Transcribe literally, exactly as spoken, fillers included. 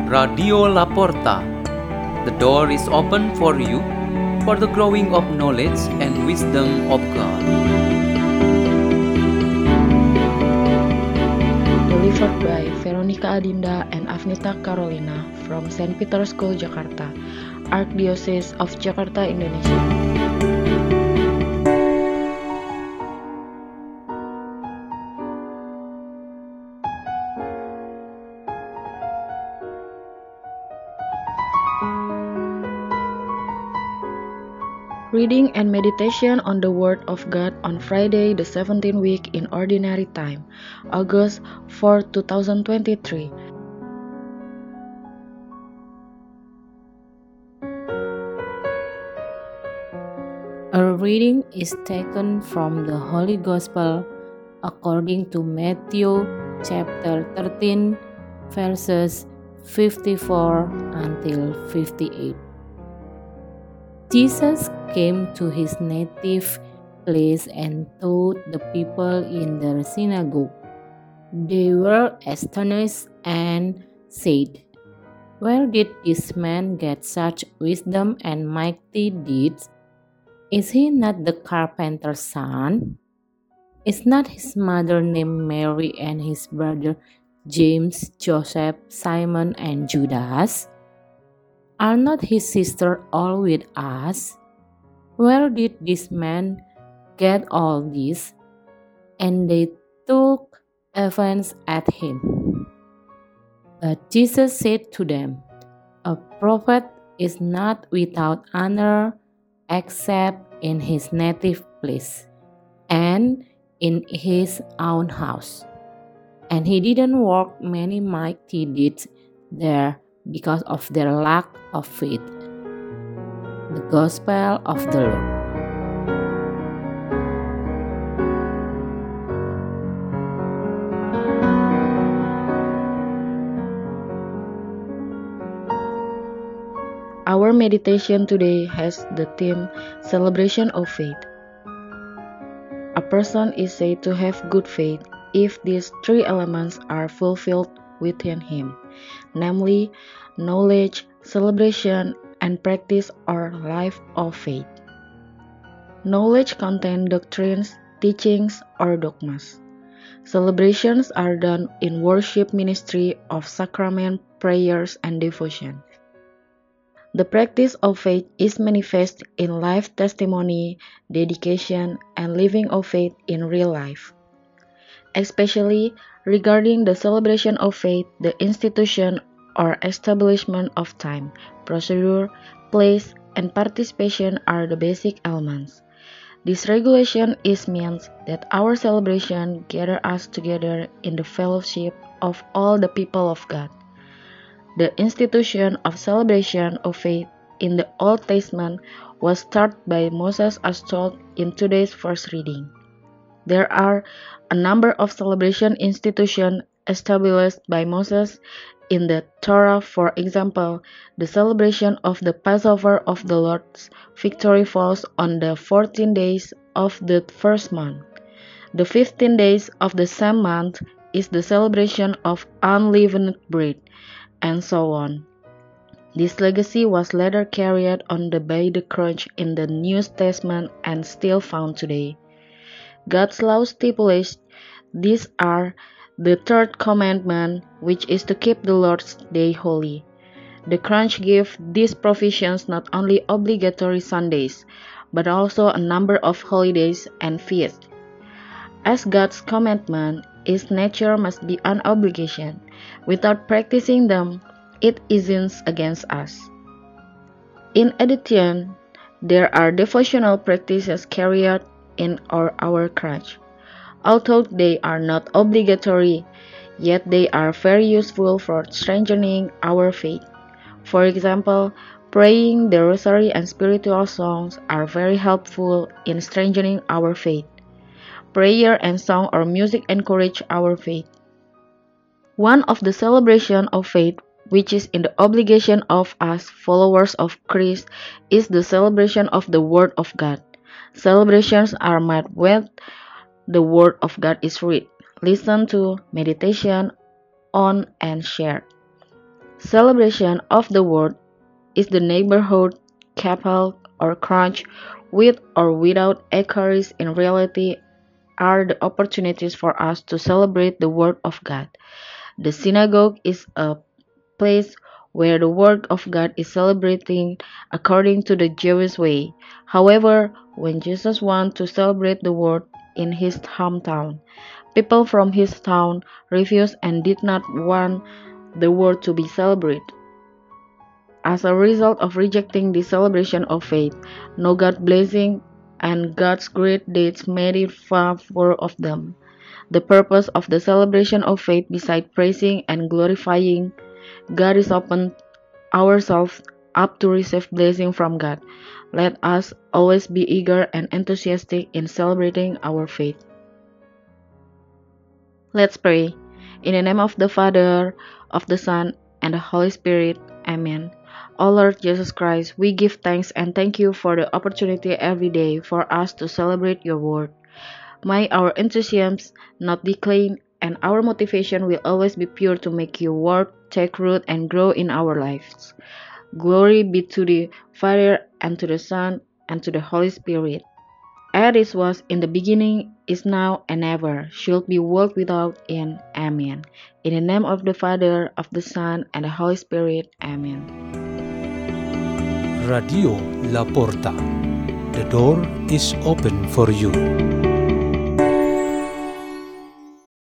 Radio Laporta. The door is open for you for the growing of knowledge and wisdom of God. Delivered by Veronica Adinda and Afnita Carolina from Saint Peter's School, Jakarta, Archdiocese of Jakarta, Indonesia. Reading and meditation on the Word of God on Friday, the seventeenth week in Ordinary Time, August fourth, two thousand twenty-three. A reading is taken from the Holy Gospel according to Matthew chapter thirteen, verses fifty-four until fifty-eight. Jesus came to his native place and taught the people in the synagogue. They were astonished and said, "Where did this man get such wisdom and mighty deeds? Is he not the carpenter's son? Is not his mother named Mary and his brother James, Joseph, Simon, and Judas? Are not his sisters all with us? Where did this man get all this?" And they took offense at him. But Jesus said to them, "A prophet is not without honor except in his native place and in his own house." And he didn't work many mighty deeds there because of their lack of faith. The Gospel of the Lord. Our meditation today has the theme Celebration of Faith. A person is said to have good faith if these three elements are fulfilled within him, namely knowledge, celebration, and practice or life of faith. Knowledge contains doctrines, teachings, or dogmas. Celebrations are done in worship ministry of sacrament, prayers, and devotion. The practice of faith is manifest in life testimony, dedication, and living of faith in real life. Especially regarding the celebration of faith, the institution or establishment of time, procedure, place, and participation are the basic elements. This regulation is means that our celebration gather us together in the fellowship of all the people of God. The institution of celebration of faith in the Old Testament was started by Moses as told in today's first reading. There are a number of celebration institutions established by Moses in the Torah. For example, the celebration of the Passover of the Lord's victory falls on the fourteen days of the first month. The fifteen days of the same month is the celebration of unleavened bread, and so on. This legacy was later carried on by the Church in the New Testament and still found today. God's law stipulates these are the third commandment, which is to keep the Lord's Day holy. The Church gave these provisions not only obligatory Sundays, but also a number of holidays and feasts. As God's commandment, its nature must be an obligation. Without practicing them, it isn't against us. In addition, there are devotional practices carried in our, our church. Although they are not obligatory, yet they are very useful for strengthening our faith. For example, praying the rosary and spiritual songs are very helpful in strengthening our faith. Prayer and song or music encourage our faith. One of the celebration of faith, which is in the obligation of us followers of Christ, is the celebration of the Word of God. Celebrations are made when the Word of God is read, listened to, meditation on, and shared. Celebration of the Word is the neighborhood, chapel, or crunch, with or without Eucharist in reality, are the opportunities for us to celebrate the Word of God. The synagogue is a place where the Word of God is celebrated according to the Jewish way. However, when Jesus wanted to celebrate the Word in his hometown, people from his town refused and did not want the Word to be celebrated. As a result of rejecting the celebration of faith, no God blessing and God's great deeds made it far for of them. The purpose of the celebration of faith, besides praising and glorifying God, is open ourselves up to receive blessing from God. Let us always be eager and enthusiastic in celebrating our faith. Let's pray. In the name of the Father, of the Son, and the Holy Spirit. Amen. O Lord Jesus Christ, we give thanks and thank you for the opportunity every day for us to celebrate your word. May our enthusiasm not decline, and our motivation will always be pure to make your word take root and grow in our lives. Glory be to the Father, and to the Son, and to the Holy Spirit. As it was in the beginning, is now, and ever, should be world without end. Amen. In the name of the Father, of the Son, and the Holy Spirit. Amen. Radio La Porta. The door is open for you.